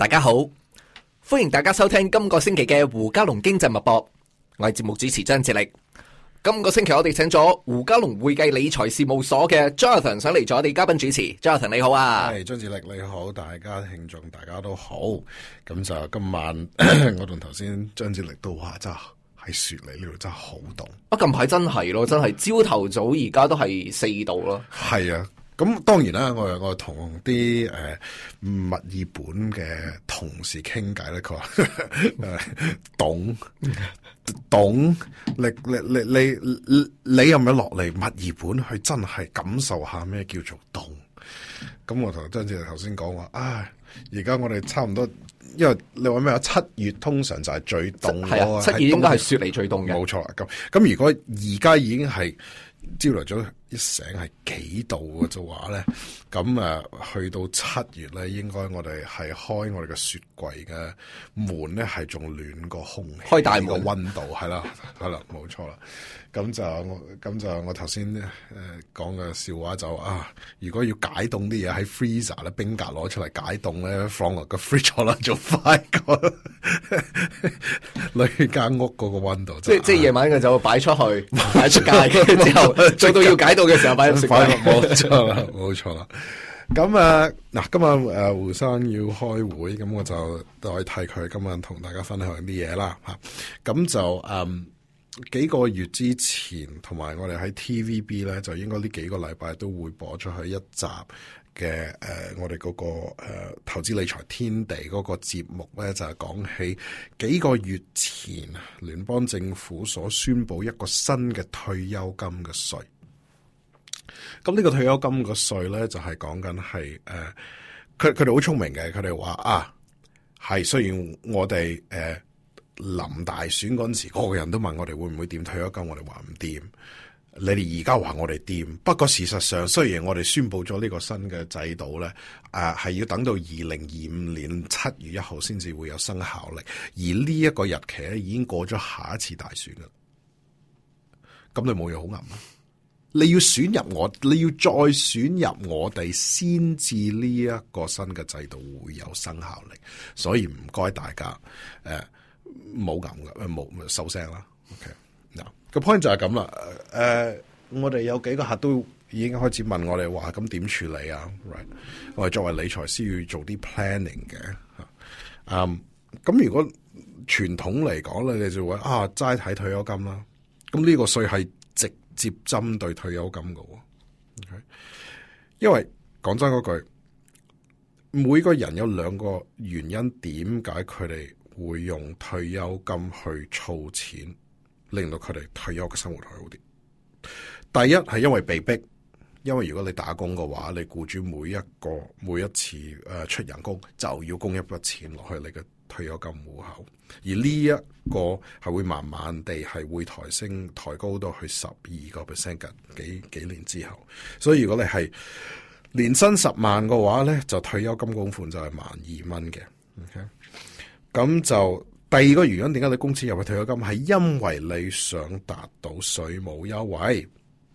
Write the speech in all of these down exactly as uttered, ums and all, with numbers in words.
大家好，歡迎大家收聽今個星期嘅胡嘉龍經濟脈搏，我係節目主持張志力。今個星期我哋請咗胡嘉龍會計理財事務所嘅 Jonathan 上嚟做我哋嘉賓主持。Jonathan 你好啊， 係張志力你好，大家聽眾大家都好。咁就今晚我同頭先張志力都話真係喺雪梨呢度真係好凍。 啊近排真係咯，真係朝頭早而家都係四度咯。 係啊。咁當然啦，我我同啲誒墨爾本嘅同事傾偈咧，佢話誒凍凍，你你你你你你有冇落嚟墨爾本去真係感受下咩叫做凍？咁我同張志頭先講話，啊而家我哋差唔多，因為你話咩啊？七月通常就係最凍嗰個， 係啊，七月應該係雪梨最凍嘅。 冇錯啦。咁咁如果而家已經係朝頭早一醒係幾度嘅就話咧，咁啊去到七月咧，應該我哋係開我哋嘅雪櫃嘅門咧，係仲暖過空氣， 開大門個溫度係啦，係啦，冇錯啦。咁就我咁就我頭先誒講嘅笑話就啊，如果要解凍啲嘢喺 freezer 咧，冰格攞出嚟解凍咧，放落個 fridge 啦，做快過裏間屋嗰個溫度。 即即係夜晚嘅就擺出去，擺出街之後，做到要解凍嘅時候擺入食櫃。 冇錯啦，冇錯啦。咁啊，嗱，今晚誒胡生要開會，咁我就代替佢今晚同大家分享啲嘢啦吓。咁就誒。嗯幾個月之前，同埋我哋喺 T V B 咧，就應該呢幾個禮拜都會播出去一集嘅誒、呃，我哋嗰、那個誒、呃、投資理財天地嗰個節目咧，就係、是、講起幾個月前聯邦政府所宣布一個新嘅退休金嘅稅。咁呢個退休金嘅稅咧，就係講緊係誒，佢佢哋好聰明嘅，佢哋話啊，係雖然我哋誒。呃臨大選嗰陣時，個個人都問我哋會唔會掂退休金，我哋話唔掂。你哋而家話我哋掂，不過事實上，雖然我哋宣布咗呢個新嘅制度咧，誒、呃、係要等到二零二五年七月一號先至會有生效力，而呢一個日期咧已經過咗下一次大選啦。咁你冇嘢好噏啊！你要選入我，你要再選入我哋，先至呢一個新嘅制度會有生效力。所以唔該大家，誒、呃。冇咁嘅，冇收聲啦。OK，嗱個 point 就係咁啦。誒、呃，我哋有幾個客都已經開始問我哋話，咁點處理啊 ？Right， 我哋作為理財師要做啲 planning 嘅吓。嗯，咁如果傳統嚟講咧，你就會啊齋睇退休金啦。咁呢個稅係直接針對退休金嘅。OK，因為講真嗰句，每個人有兩個原因，點解佢哋會用退休金去儲錢，令到佢哋退休嘅生活好啲。第一係因為被逼，因為如果你打工嘅話，你僱主每一個每一次誒出人工就要供一筆錢落去你嘅退休金戶口，而呢一個係會慢慢地係會抬升抬高到去十二個 percent 嘅幾幾年之後。所以如果你係年薪十萬嘅話咧，就退休金供款就係萬二蚊嘅。OK。咁就第二個原因，點解你供錢入去退休金，係因為你想達到稅務優惠。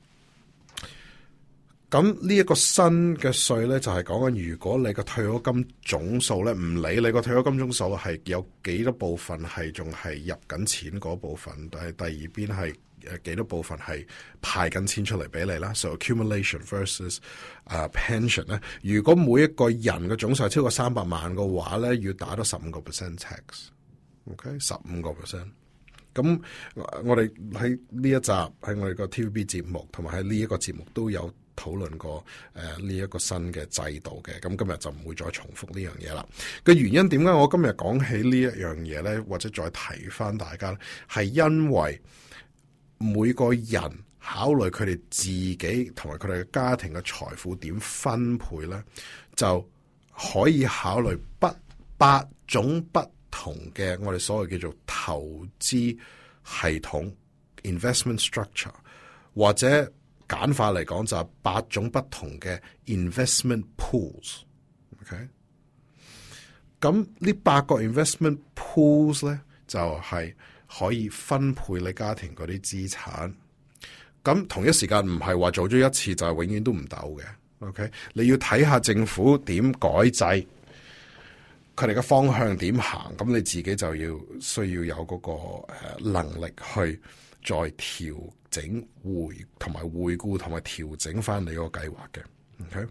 咁呢一個新嘅稅咧，就係講緊如果你個退休金總數咧，唔理你個退休金總數係有幾多部分係仲係入緊錢嗰部分，但係第二邊係誒幾多部分係派緊錢出嚟俾你啦。So accumulation versus 啊、uh, pension 咧，如果每一個人嘅總數係超過三百萬嘅話咧，要打多十五個 percent tax。OK， 十五個 percent。咁我哋喺呢一集喺我哋個 T V B 節目，同埋喺呢一個節目都有討論過誒呢一個新嘅制度嘅。咁今日就唔會再重複呢樣嘢啦。嘅原因點解我今日講起呢一樣嘢咧，或者再提翻大家咧，係因為每個人考慮佢哋自己同埋佢哋嘅家庭嘅財富點分配咧，就可以考慮不八種不同嘅我哋所謂叫做投資系統 investment structure， 或者簡化嚟講就係八種不同嘅 investment pools。 OK， 咁呢八個 investment pools 咧就係、是、可以分配你家庭嗰啲資產。咁同一時間唔係話做咗一次就係永遠都唔抖嘅。OK， 你要睇下政府點改制。 佢哋嘅方向點行，咁你自己就要需要有嗰個誒能力去再調整回同埋回顧同埋調整翻你個計劃嘅。OK，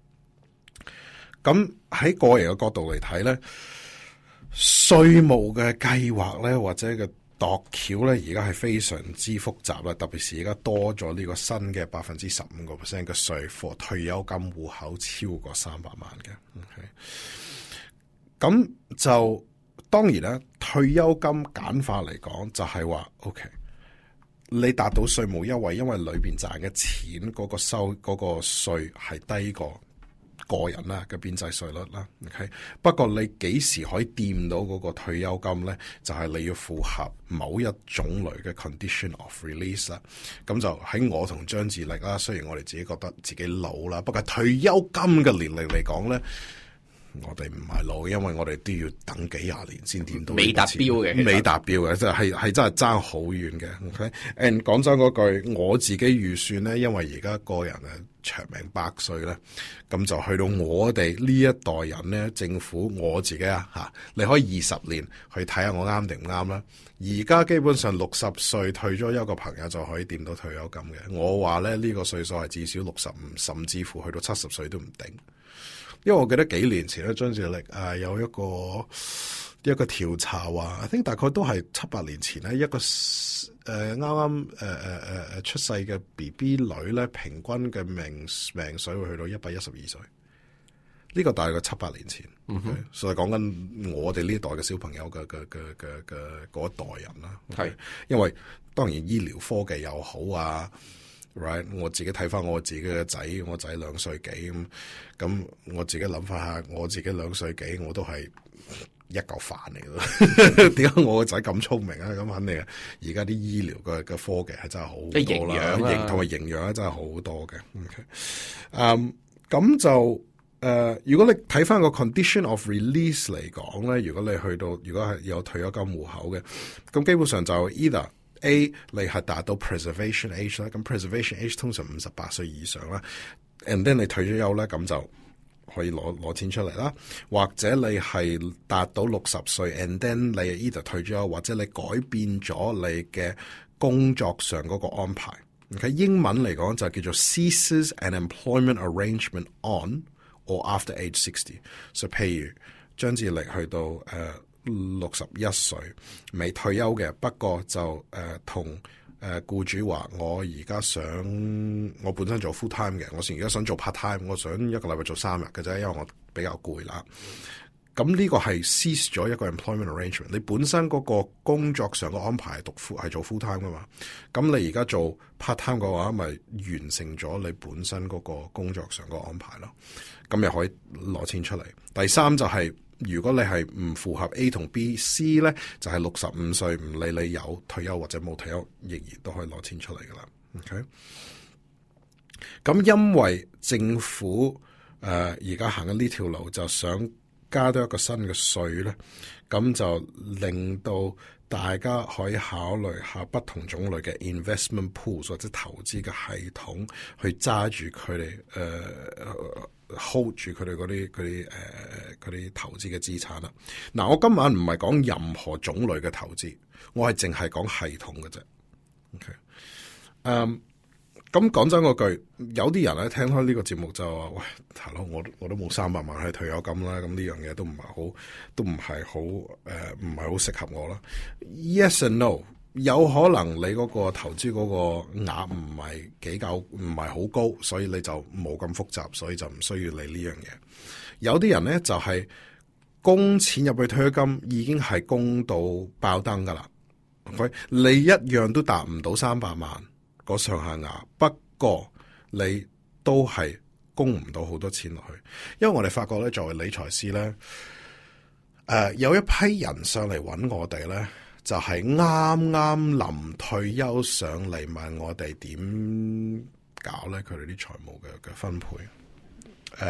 咁喺個人嘅角度嚟睇咧，稅務嘅計劃咧或者嘅度橋咧，而家係非常之複雜啦，特別是而家多咗呢個新嘅百分之十五個 percent 嘅稅課退休金戶口超過三百萬嘅。OK，咁就當然啦，退休金簡化嚟講就係話 OK。你達到稅務優惠，因為裏邊賺嘅錢嗰個收嗰個稅係低過個人啦嘅邊際稅率啦。OK，不過你幾時可以掂到嗰個退休金咧？就係你要符合某一種類嘅 condition of release 啦。咁就喺我同張志力啦，雖然我哋自己覺得自己老啦，不過退休金嘅年齡嚟講咧，我哋唔係老，因為我哋都要等幾廿年先掂到。 未達標嘅， 未達標嘅，即係係真係爭好遠嘅。OK，and 講真嗰句，我自己預算咧，因為而家個人啊長命百歲咧，咁就去到我哋呢一代人咧，政府我自己啊吓，你可以二十年去睇下我啱定唔啱啦。而家基本上六十歲退咗休個朋友就可以掂到退休金嘅。我話咧呢、呢個歲數係至少六十五，甚至乎去到七十歲都唔定。因為我記得幾年前咧，張志力誒有一個一個調查話，I think 大概都係七八年前咧，一個誒啱啱誒誒誒誒出世嘅 B B 女咧，平均嘅命命水會去到一百一十二歲。呢個大概七八年前，嗯哼 okay? 所以講緊我哋呢一代嘅小朋友嘅嘅嘅嘅嘅嗰一代人啦。係、okay? 因為當然醫療科技又好啊。Right， 我自己睇翻我自己嘅仔，我仔兩歲幾咁，咁我自己諗翻下，我自己兩歲幾，我都係一嚿飯嚟咯。點解我個仔咁聰明啊？咁肯定啊！而家啲醫療嘅嘅科技係真係好多啦，營同埋營養咧真係好多嘅。OK，嗯，咁就誒、呃，如果你睇翻個 condition of release 嚟講咧，如果你去到如果係有退休金戶口嘅，咁基本上就 either A 你係達到 preservation age 啦，咁 preservation age 通常五十八歲以上啦 ，and then 你退咗休咧，咁就可以攞攞錢出嚟啦。或者你係達到六十歲 ，and then 你 either 退咗休，或者你改變咗你嘅工作上嗰個安排。OK， 英文嚟講就叫做 ceases an employment arrangement on or after age sixty。所以譬如張志力去到誒。Uh, 六十一歲未退休嘅，不過就誒同誒僱主話，我而家想我本身做 full time 嘅，我而家想做 part time，我想一個禮拜做三日嘅啫，因為我比較攰啦。咁呢個係 cease 咗一個 employment arrangement。你本身嗰個工作上嘅安排係讀 full 係做 full time 噶嘛？咁你而家做 part time 嘅話，咪完成咗你本身嗰個工作上嘅安排咯。咁又可以攞錢出嚟。第三就係、是。如果你係唔符合 A 同 B、C 咧，就係六十五歲，唔理你有退休或者冇退休，仍然都可以攞錢出嚟噶啦。OK，咁因為政府誒而家行緊呢條路，就想加多一個新嘅稅咧，咁就令到大家可以考慮下不同種類嘅 investment pools 或者投資嘅系統，去揸住佢哋誒。hold 住佢哋嗰啲佢啲誒佢啲投資嘅資產啦。嗱，我今晚唔係講任何種類嘅投資，我係淨係講系統嘅啫。OK，誒，咁講真嗰句，有啲人咧聽開呢個節目就話：喂，大佬，我我都冇三百萬去退休金啦，咁呢樣嘢都唔係好，都唔係好誒，唔係好適合我啦。Yes and no。有可能你嗰個投資嗰個額唔係幾夠，唔係好高，所以你就冇咁複雜，所以就唔需要理呢樣嘢。有啲人咧就係、是、供錢入去退休金已經係供到爆燈噶啦，佢你一樣都達唔到三百萬嗰上限額，不過你都係供唔到好多錢落去，因為我哋發覺咧，作為理財師咧，誒、呃、有一批人上嚟揾我哋咧。就係啱啱臨退休上嚟問我哋點搞咧，佢哋啲財務嘅嘅分配，誒、呃、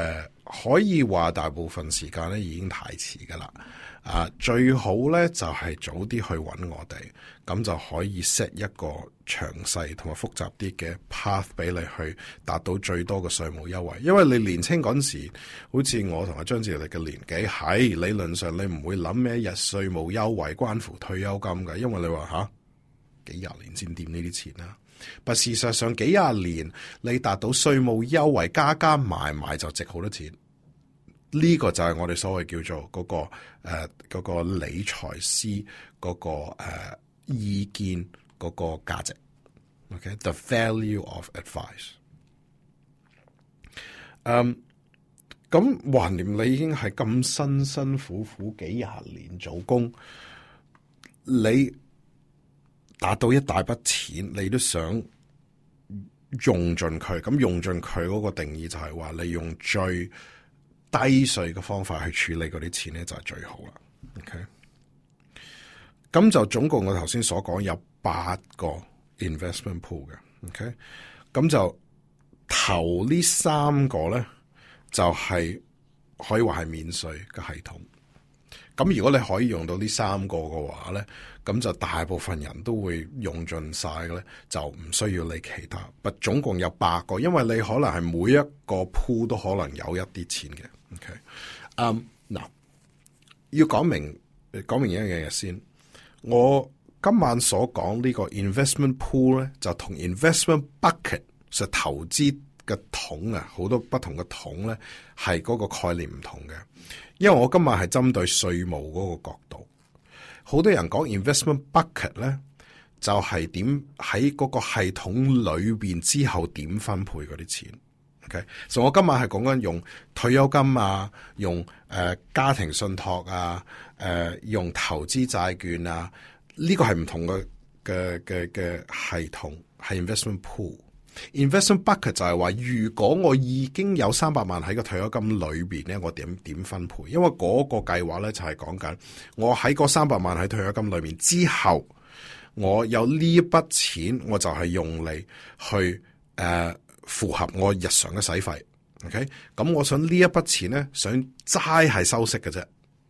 可以話大部分時間咧已經太遲噶啦。啊，最好咧就係早啲去揾我哋，咁就可以 set 一個詳細同埋複雜啲嘅 path 俾你去達到最多嘅稅務優惠。因為你年青嗰陣時，好似我同阿張志力嘅年紀，喺理論上你唔會諗咩日稅務優惠關乎退休金嘅，因為你話吓幾廿年先掂呢啲錢啦。但事實上幾廿年你達到稅務優惠加加埋埋就值好多錢。呢個就係我哋所謂叫做嗰、嗰個誒、呃嗰個理財師嗰、嗰個誒、呃、意見嗰個價值。OK，the value of advice。嗯，咁橫掂你已經係咁辛辛苦苦幾廿年做工，你達到一大筆錢，你都想用盡佢。咁用盡佢嗰個定義就係話，你用最低稅嘅方法去處理嗰啲錢咧，就係最好啦。OK，咁就總共我頭先所講有八個 investment pool 嘅。OK，咁就頭呢三個咧，就係、是、可以話係免稅嘅系統。咁如果你可以用到呢三個嘅話咧，咁就大部分人都會用盡晒嘅咧，就唔需要理其他。不，總共有八個，因為你可能係每一個 pool 都可能有一啲錢嘅。OK，嗯，嗱，要講明講明一樣嘢先。我今晚所講呢個 investment pool 咧，就同 investment bucket 實投資嘅桶啊，好多不同嘅桶咧，係嗰個概念唔同嘅。因為我今晚係針對稅務嗰個角度，好多人講 investment bucket 咧，就係點喺嗰個系統裏邊之後點分配嗰啲錢。OK，所以我今晚係講緊用退休金啊，用誒、呃、家庭信託啊，誒、呃、用投資債券啊，呢、這個係唔同嘅嘅嘅嘅系統，係 investment pool。investment bucket 就係話，如果我已經有三百萬喺個退休金裏邊咧，我點點分配？因為嗰個計劃咧就係講緊我喺嗰三百萬喺退休金裏邊之後，我有呢一筆錢，我就係用嚟去誒。呃符合我日常嘅使費 ，OK，咁我想呢一筆錢咧，想齋係收息嘅啫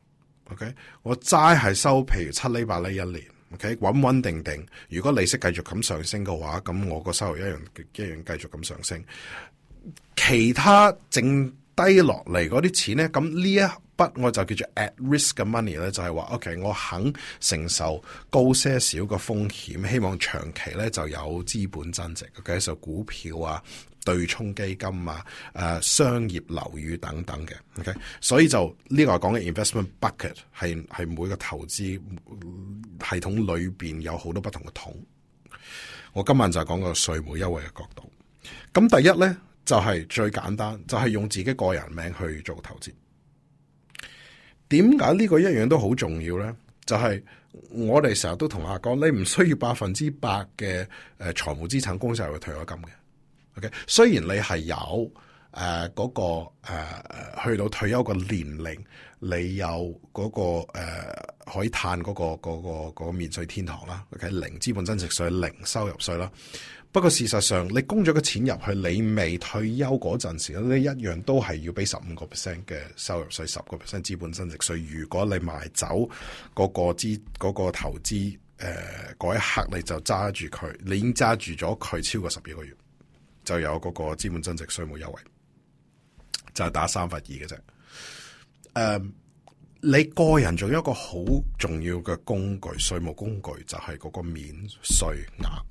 ，OK，我齋係收，譬如七厘八厘一年 ，OK，穩穩定定。如果利息繼續咁上升嘅話，咁我個收入一樣一樣繼續咁上升。其他剩低落嚟嗰啲錢咧，咁呢一筆我就叫做 at risk 嘅 money 咧，就係話 OK，我肯承受高些少嘅風險，希望長期咧就有資本增值。OK，就股票啊、對沖基金啊、誒、呃、商業樓宇等等嘅。OK，所以就呢、這個講嘅 investment bucket 係係每個投資系統裏邊有好多不同嘅桶。我今晚就係講個稅務優惠嘅角度。咁第一咧就係、是、最簡單，就係、是、用自己個人名去做投資。點解呢個一樣都好重要咧？就係、是、我哋成日都同客講，你唔需要百分之百嘅誒財務資產公債去退休金嘅。OK， 雖然你係有誒嗰、呃那個誒、呃、去到退休嘅年齡，你有嗰、那個誒、呃、可以嘆嗰、那個嗰、那個嗰、那個免稅天堂啦。OK， 零資本增值稅、零收入稅啦。不過事實上，你供咗個錢入去，你未退休嗰陣時咧，你一樣都係要俾十五個 percent 嘅收入稅，十個 percent 資本增值稅。如果你賣走嗰個資嗰、那個投資誒嗰一刻，你就揸住佢，你已經揸住咗佢超過十二個月，就有嗰個資本增值稅務優惠，就係、是、打三分二嘅啫。誒、呃，你個人仲有一個好重要嘅工具，稅務工具就係嗰個免稅額。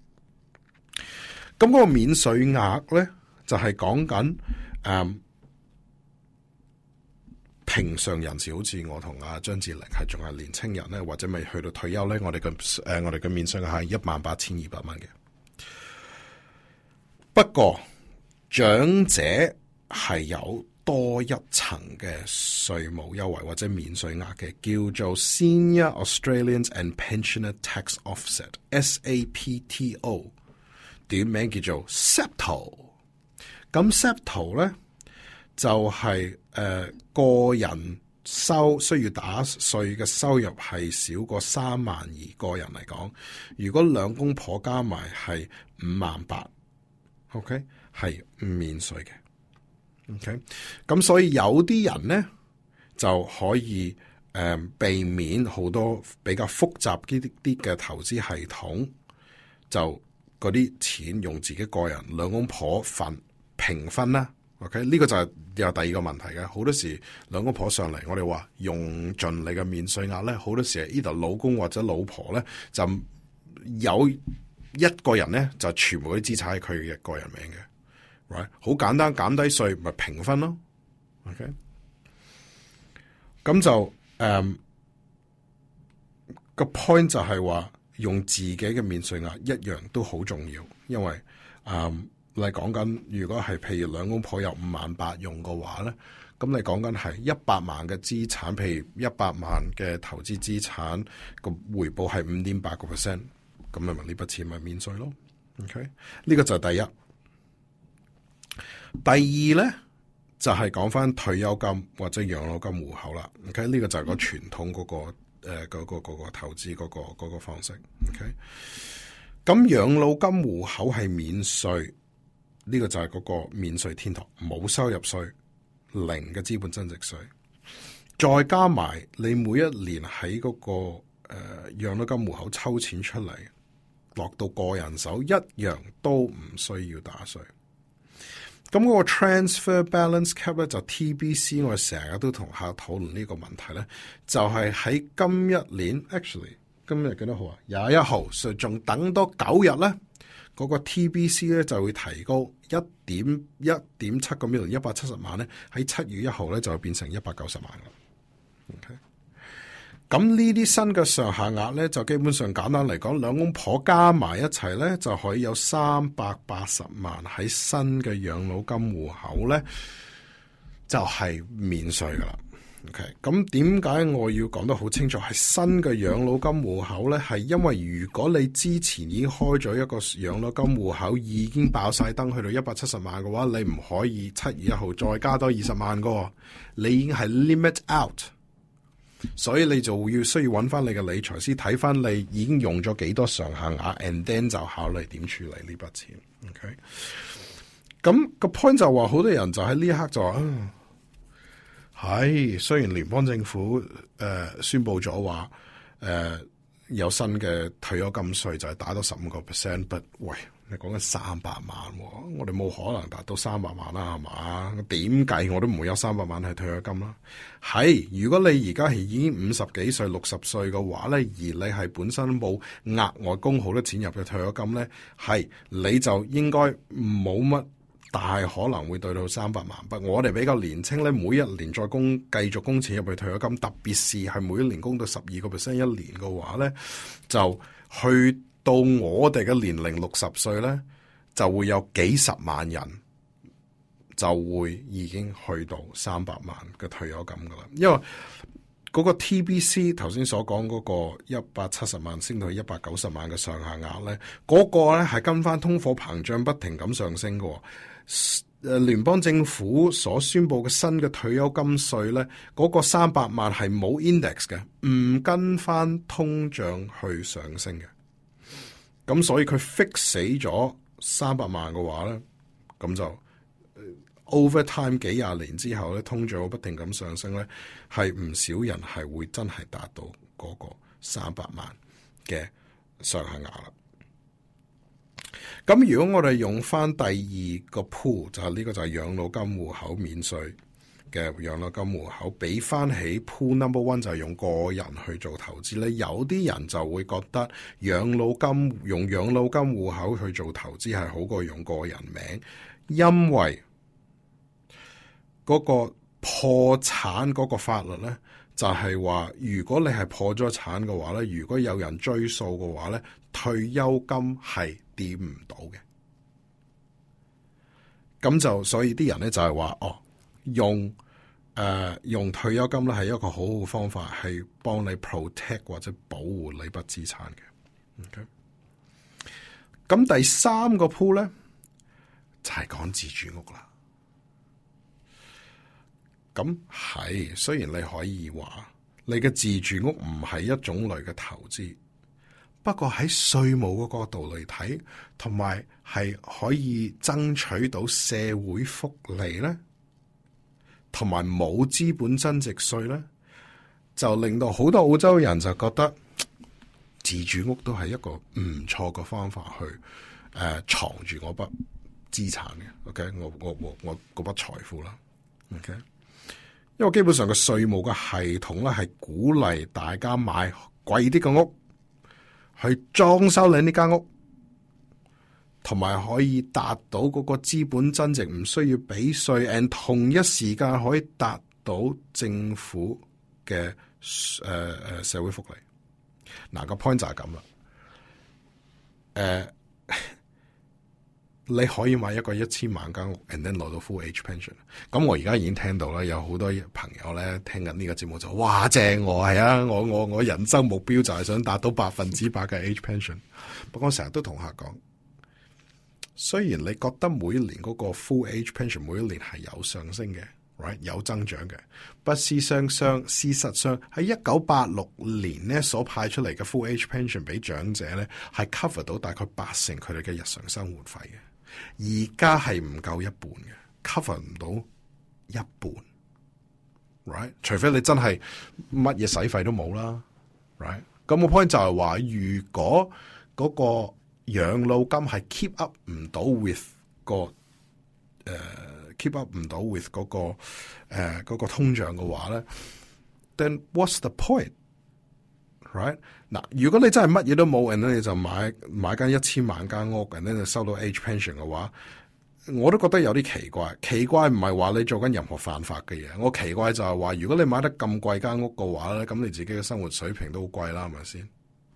咁嗰個免稅額咧，就係講緊誒平常人士，好似我同阿張志玲係仲係年青人咧，或者未去到退休咧，我哋嘅誒我哋嘅免稅額係一萬八千二百蚊嘅。不過長者係有多一層嘅稅務優惠或者免稅額嘅，叫做 Senior Australians and Pensioner Tax Offset（S A P T O）。短名叫做 S A P T O， 咁 S A P T O 咧就係、是、誒、呃、個人收需要打稅嘅收入係少過三萬二個人嚟講，如果兩公婆加埋係五萬八 ，OK 係唔免稅嘅 OK， 咁所以有啲人咧就可以誒、呃、避免好多比較複雜啲啲嘅投資系統，就嗰啲錢用自己個人兩公婆分平分啦。OK， 呢個就係有第二個問題嘅。好多時兩公婆上嚟，我哋話用盡你嘅免稅額咧，好多時係呢度老公或者老婆咧就有一個人咧就全部啲資產係佢嘅個人名嘅。Right， 好簡單，減低稅咪平分咯。OK， 咁就誒個 point 就係話用自己嘅免稅額一樣都好重要，因為誒你講緊如果係譬如兩公婆有五萬八用嘅話咧，咁你講緊係一百萬嘅資產，譬如一百萬嘅投資資產個回報係五點八個 percent， 咁你咪呢筆錢咪免稅咯。OK， 呢個就係第一。第二咧就係講翻退休金或者養老金戶口啦。OK， 呢個就係個傳統嗰、那個誒嗰、呃那個、那個投資嗰、那個、那個方式。OK，咁養老金戶口係免稅，呢、這個就係嗰個免稅天堂，冇收入稅，零嘅資本增值稅，再加埋你每一年喺嗰、那個誒、呃、養老金戶口抽錢出嚟，落到個人手一樣都唔需要打稅。咁嗰個 transfer balance cap 咧就 T B C， 我哋成日都同客討論呢個問題咧，就係、是、喺今一年 actually 今日幾多號啊？廿一號，所以仲等多九日咧，嗰、那個 T B C 咧就會提高一點一點七個 million 一百七十萬咧，喺七月一號咧就會變成一百九十萬啦。OK。咁呢啲新嘅上下額咧，就基本上簡單嚟講，兩公婆加埋一齊咧，就可以有三百八十萬喺新嘅養老金戶口咧，就係、是、免稅噶啦。OK， 咁點解我要講得好清楚？係新嘅養老金戶口咧，係因為如果你之前已經開咗一個養老金戶口，已經爆晒燈去到一百七十萬嘅話，你唔可以七月一號再加多二十萬個，你已經係 limit out。所以你就要需要揾翻你嘅理財師睇翻你已經用咗幾多上下額 and then 就考慮點處理呢筆錢。OK， 咁個 point 就話好多人就喺呢一刻就話，係、啊、雖然聯邦政府誒、呃、宣布咗話誒有新嘅退休金稅就係打到十五個 percent，but 喂，你講緊三百萬、哦，我哋冇可能達到三百萬啦，係嘛？點計我都唔會有三百萬係退休金啦。係如果你而家係已經五十幾歲、六十歲嘅話咧，而你係本身冇額外供好多錢入嘅退休金咧，係你就應該冇乜大可能會對到三百萬。不過我哋比較年青咧，每一年再供繼續供錢入去退休金，特別是係每一年供到十二個 percent 一年嘅話咧，就去到我哋嘅年齡六十歲咧，就會有幾十萬人就會已經去到三百萬嘅退休金噶啦。因為嗰個 T B C 頭先所講嗰個一百七十萬升到一百九十萬嘅上下額咧，嗰、嗰個咧係跟翻通貨膨脹不停咁上升嘅。誒，聯邦政府所宣布嘅新嘅退休金稅咧，嗰、嗰個三百萬係冇 index 嘅，唔跟翻通脹去上升嘅。咁所以佢 fix 死咗三百萬嘅話咧，咁就 over time 幾廿年之後咧，通脹不停咁上升咧，係唔少人係會真係達到嗰個三百萬嘅上限額啦。咁如果我哋用翻第二個 pool， 就係呢個就係養老金戶口免稅嘅養老金戶口，比翻起 pool number one 就係用個人去做投資咧，有啲人就會覺得養老金用養老金戶口去做投資係好過用個人名，因為嗰個破產嗰個法律咧，就係話如果你係破咗產嘅話咧，如果有人追訴嘅話咧，退休金係掂唔到嘅。咁就所以啲人咧就係話哦。用誒、呃、用退休金咧係一個好好嘅方法，係幫你 protect 或者保護你筆資產嘅。OK，咁第三個 pool 咧就係、是、講自住屋啦。咁係雖然你可以話你嘅自住屋唔係一種類嘅投資，不過喺稅務嘅角度嚟睇，同埋係可以爭取到社會福利咧。 同埋冇資本增值稅咧，就令到好多澳洲人就覺得自住屋都係一個唔錯嘅方法去誒、呃、藏住我筆資產嘅。OK， 我我我我嗰筆財富啦。OK，因為基本上個稅務嘅系統咧係鼓勵大家買貴啲嘅屋，去裝修你呢間屋，同埋可以達到嗰個資本增值，唔需要俾稅 and 同一時間可以達到政府嘅誒誒社會福利。嗱、個 point 就係咁啦。誒、呃，你可以買一個一千萬間屋 and then 攞到 full age pension。咁我而家已經聽到啦，有好多朋友咧聽緊呢個節目就哇正我係啊，我我我人生目標就係想達到百分之百嘅 age pension。不過我成日都同客講，雖然你覺得每一年嗰個 full age pension 每一年係有上升嘅 ，right 有增長嘅，不事實上事實上喺一九八六年咧所派出嚟嘅 full age pension 俾長者咧係 cover 到大概八成佢哋嘅日常生活費嘅，而家係唔夠一半嘅 ，cover 唔到一半 ，right 除非你真係乜嘢使費都冇啦 ，right 咁個 point 就係話，如果嗰、嗰個養老金係 keep up 唔到 with 個誒、uh, keep up 唔到 with 嗰、嗰個誒、uh, 嗰個通脹嘅話咧 ，then what's the point？right 嗱，如果你真係乜嘢都冇，然後你就買買間一千萬間屋，然後就收到 age pension 嘅話，我都覺得有啲奇怪。奇怪唔係話你做緊任何犯法嘅嘢，我奇怪就係話，如果你買得咁貴間屋嘅話咧，咁你自己嘅生活水平都好貴啦，係咪先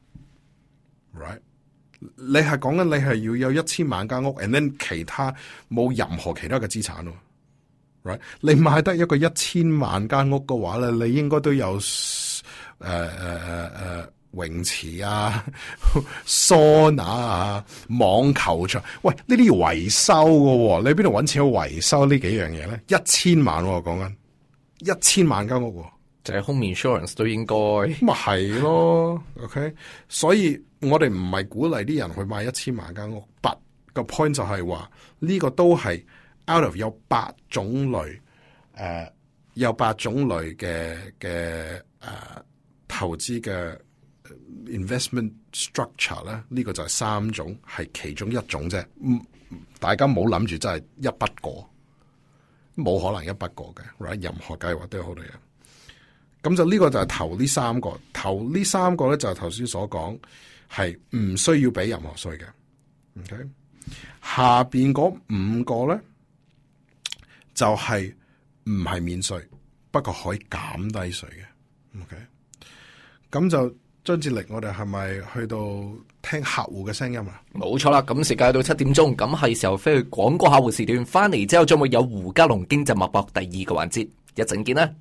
？right？你係講緊你係要有一千萬間屋 and then 其他冇任何其他嘅資產咯 ，right？你買得一個一千萬間屋嘅話咧，你應該都有誒誒誒誒泳池啊、桑拿啊、網球場。喂，呢啲要維修嘅，你邊度搵錢去維修呢幾樣嘢咧？一千萬我講緊一千萬間屋， 就係 home insurance 都應該。 咁咪係咯 ，OK？ 所以我哋唔係鼓勵啲人去買一千萬間屋 ，but 個 point 就係話呢個都係 out of 有八種類，誒、呃、有八種類嘅嘅誒投資嘅 investment structure 咧，呢個就係三種，係其中一種啫。嗯，大家冇諗住真係一筆過，冇可能一筆過嘅 ，right？ 任何計劃都有好多嘢。咁就呢個就係頭呢三個，頭呢三個咧就係頭先所講，係唔需要俾任何稅嘅。OK，下邊嗰五個咧就係唔係免稅，不過可以減低稅嘅。OK，咁就張志力，我哋係咪去到聽客戶嘅聲音啊？ 冇錯啦，咁時間到七點鐘，咁係時候飛去廣告客戶時段，翻嚟之後將會有胡嘉龍經濟脈搏第二個環節，一陣見啦。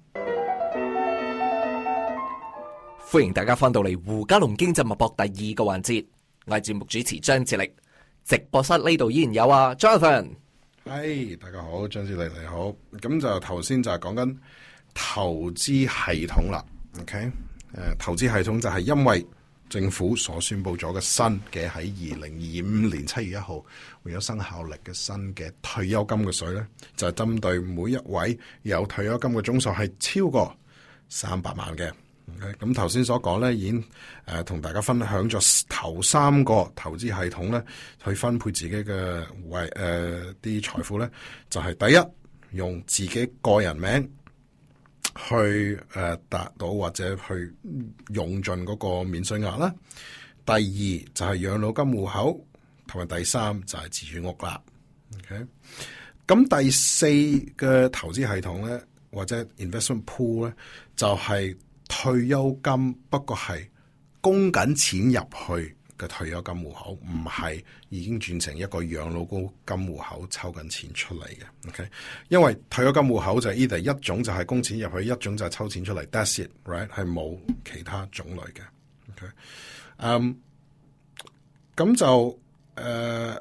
歡迎大家翻到嚟胡嘉龍經濟脈搏第二個環節，我係節目主持張志力，直播室呢度依然有啊 Jonathan。 係，大家好，張志力你好。咁就頭先就係講緊投資系統啦。OK，誒、呃，投資系統就係因為政府所宣布咗嘅新嘅喺二零二五年七月一號會有生效力嘅新嘅退休金嘅稅咧，就係、是、針對每一位有退休金嘅總數係超過三百萬嘅。咁頭先所講咧，已經誒同、呃、大家分享咗頭三個投資系統咧，去分配自己嘅為誒啲財富咧，就係、是、第一用自己個人名去誒達、呃、到或者去用盡嗰個免稅額啦。第二就係養老金戶口，同埋第三就係自住屋啦。OK，咁第四嘅投資系統咧，或者 investment pool 咧，就係、是。退休金，不過係供緊錢入去嘅退休金戶口，唔係已經轉成一個養老金戶口抽緊錢出嚟嘅。OK，因為退休金戶口就係 either 一種就係供錢入去，一種就係抽錢出嚟。That's it，right？ 係冇其他種類嘅。OK，嗯，咁就誒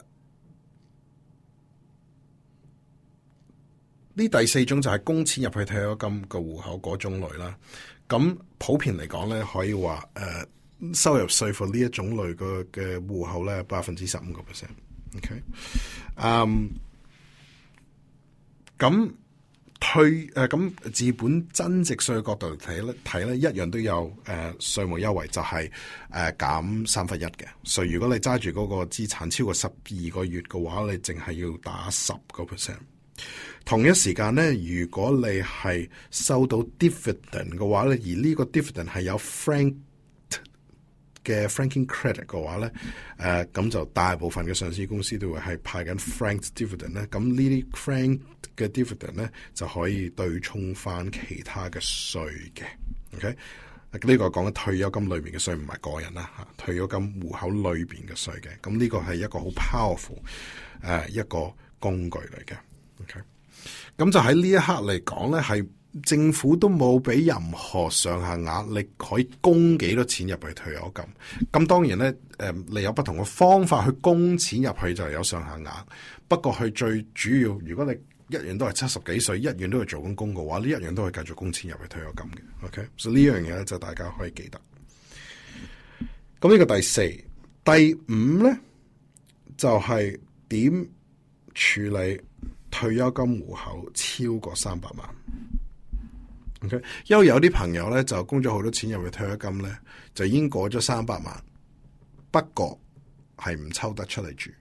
呢第四種就係供錢入去退休金嘅戶口嗰種類啦。咁普遍嚟講咧，可以話誒、呃、收入稅負呢一種類嘅嘅戶口咧，百分之十五個 percent。OK，嗯，咁退誒咁自本增值稅角度嚟睇咧，睇咧一樣都有誒、呃、稅務優惠，就係、是、誒、呃、減三分一嘅。所以如果你揸住嗰個資產超過十二個月嘅話，你淨係要打十個 percent。同一時間咧，如果你係收到 dividend 嘅話咧，而呢個 dividend 係有 frank 嘅 franking credit 嘅話咧，誒、呃、咁就大部分嘅上市公司都會係派緊 franked dividend 咧，咁呢啲 frank 嘅 dividend 咧就可以對沖翻其他嘅稅嘅。OK，呢個講緊退休金裏邊嘅稅，唔係個人啦嚇，退休金戶口裏邊嘅稅嘅。咁呢個係一個好 powerful 誒、呃、一個工具嚟嘅。OK，咁就喺呢一刻嚟講咧，係政府都冇俾任何上限額，你可以供幾多錢入去退休金。咁當然咧，誒、呃、你有不同嘅方法去供錢入去就有上限額。不過佢最主要，如果你一樣都係七十幾歲，一樣都係做緊工嘅話，呢一樣都可以繼續供錢入去退休金嘅。OK，所以呢樣嘢咧就大家可以記得。咁呢個第四、第五咧就係、是、點處理退休金戶口超過三百萬。OK，因為有啲朋友咧就供咗好多錢入去退休金咧，就已經過咗三百萬，不過係唔抽得出嚟住。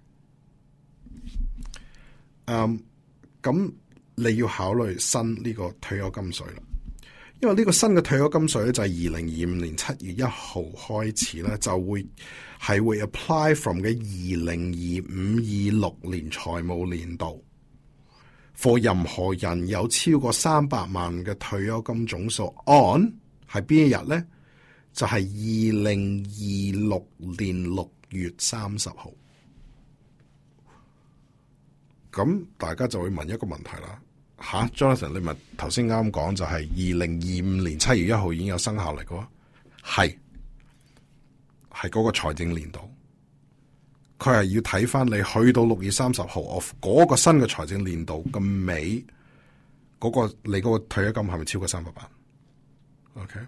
嗯，咁你要考慮新呢個退休金稅啦，因為呢個新嘅退休金稅咧就係二零二五年七月一號開始咧就會係會 apply from 嘅二零二五二六年財務年度。for 任何人有超過三百萬嘅退休金總數 on 係邊一日咧？就係二零二六年六月三十號。咁大家就會問一個問題啦，吓 Jonathan， 你咪頭先啱講就係二零二五年七月一號已經有生效嚟嘅，係係嗰個財政年度。佢係要睇翻你去到六月三十號 of 嗰個新嘅財政年度嘅尾，嗰、嗰個你嗰個退休金係咪超過三百萬 ？OK，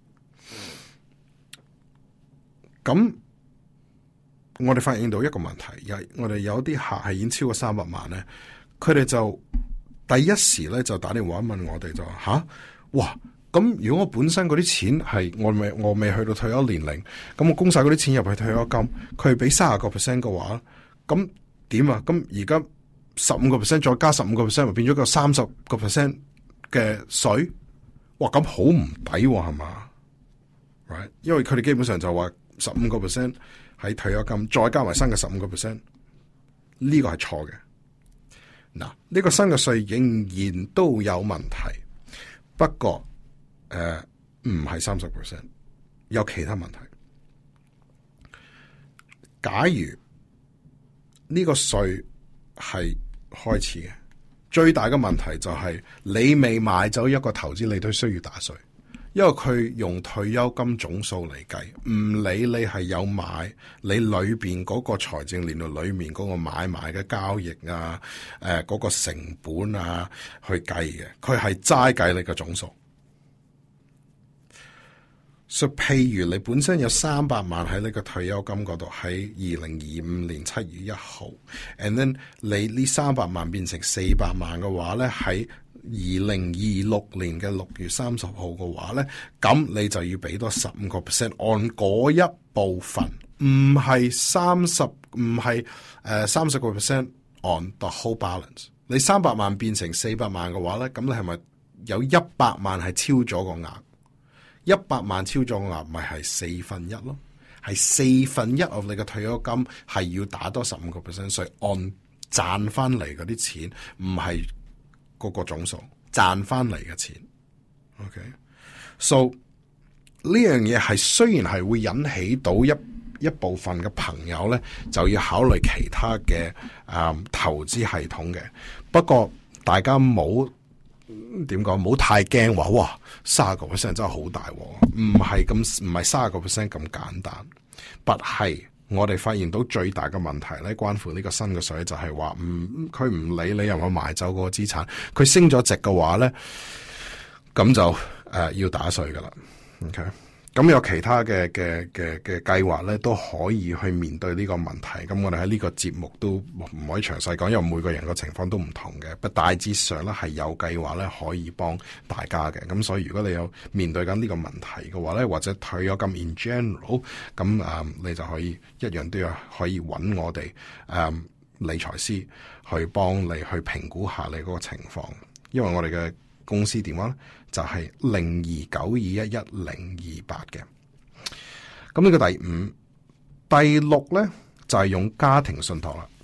咁我哋發現到一個問題，有我哋有啲客係已經超過三百萬咧，佢哋就第一時咧就打電話問我哋就話吓，哇！咁如果我本身嗰啲錢係我未我未去到退休年齡，咁我供晒嗰啲錢入去退休金，佢係俾三十個 percent 嘅話，咁點啊？咁而家十五個 percent 再加十五個 percent，咪變咗個三十個 percent 嘅稅？哇！咁好唔抵係嘛 ？Right？ 因為佢哋基本上就話十五個 percent 喺退休金，再加埋新嘅十五個 percent， 呢個係錯嘅。嗱，呢個新嘅稅仍然都有問題，不過。誒，唔係三十 percent， 有其他問題。假如呢個稅係開始嘅，最大嘅問題就係你未買走一個投資，你都需要打稅，因為佢用退休金總數嚟計，唔理你係有買，你裏邊嗰個財政年度裏面嗰個買賣嘅交易啊，誒、呃，嗰、嗰個成本啊去計嘅，佢係齋計你嘅總數。所以，譬如你本身有三百萬喺你個退休金嗰度，喺二零二五年七月一號 ，and then 你呢三百萬變成四百萬嘅話咧，喺二零二六年嘅六月三十號嘅話咧，咁你就要俾多十五個 percent 按嗰一部分，唔係三十，唔係誒三十個 percent on the whole balance。你三百萬變成四百萬嘅話咧，咁你係咪有一百萬係超咗個額？一百萬超咗個額，咪係四分一咯，係四分一 of 你嘅退休金係要打多十五個 percent 稅，按賺翻嚟嗰啲錢，唔係嗰個總數賺翻嚟嘅錢。OK，so 呢樣嘢係雖然係會引起到一一部分嘅朋友咧，就要考慮其他嘅誒、嗯、投資系統嘅，不過大家冇。點講？唔好太驚話，哇！三十個 percent 真係好大，唔係咁，唔係三十個 percent 咁簡單。但係我哋發現到最大嘅問題咧，關乎呢個新嘅稅就係話，唔佢唔理你有冇賣走嗰個資產，佢升咗值嘅話咧，咁就誒、呃、要打稅噶啦。OK， 咁有其他嘅嘅嘅嘅計劃咧，都可以去面對呢個問題。咁我哋喺呢個節目都唔可以詳細講，因為每個人個情況都唔同嘅。不大致上咧係有計劃咧可以幫大家嘅。咁所以如果你有面對緊呢個問題嘅話咧，或者退咗金 in general，咁啊、嗯、你就可以一樣都要可以揾我哋誒、嗯、理財師去幫你去評估下你嗰個情況。因為我哋嘅公司電話咧就係零二九二一一零二八嘅。咁呢個第五、第六咧就係、是、用家庭信託啦。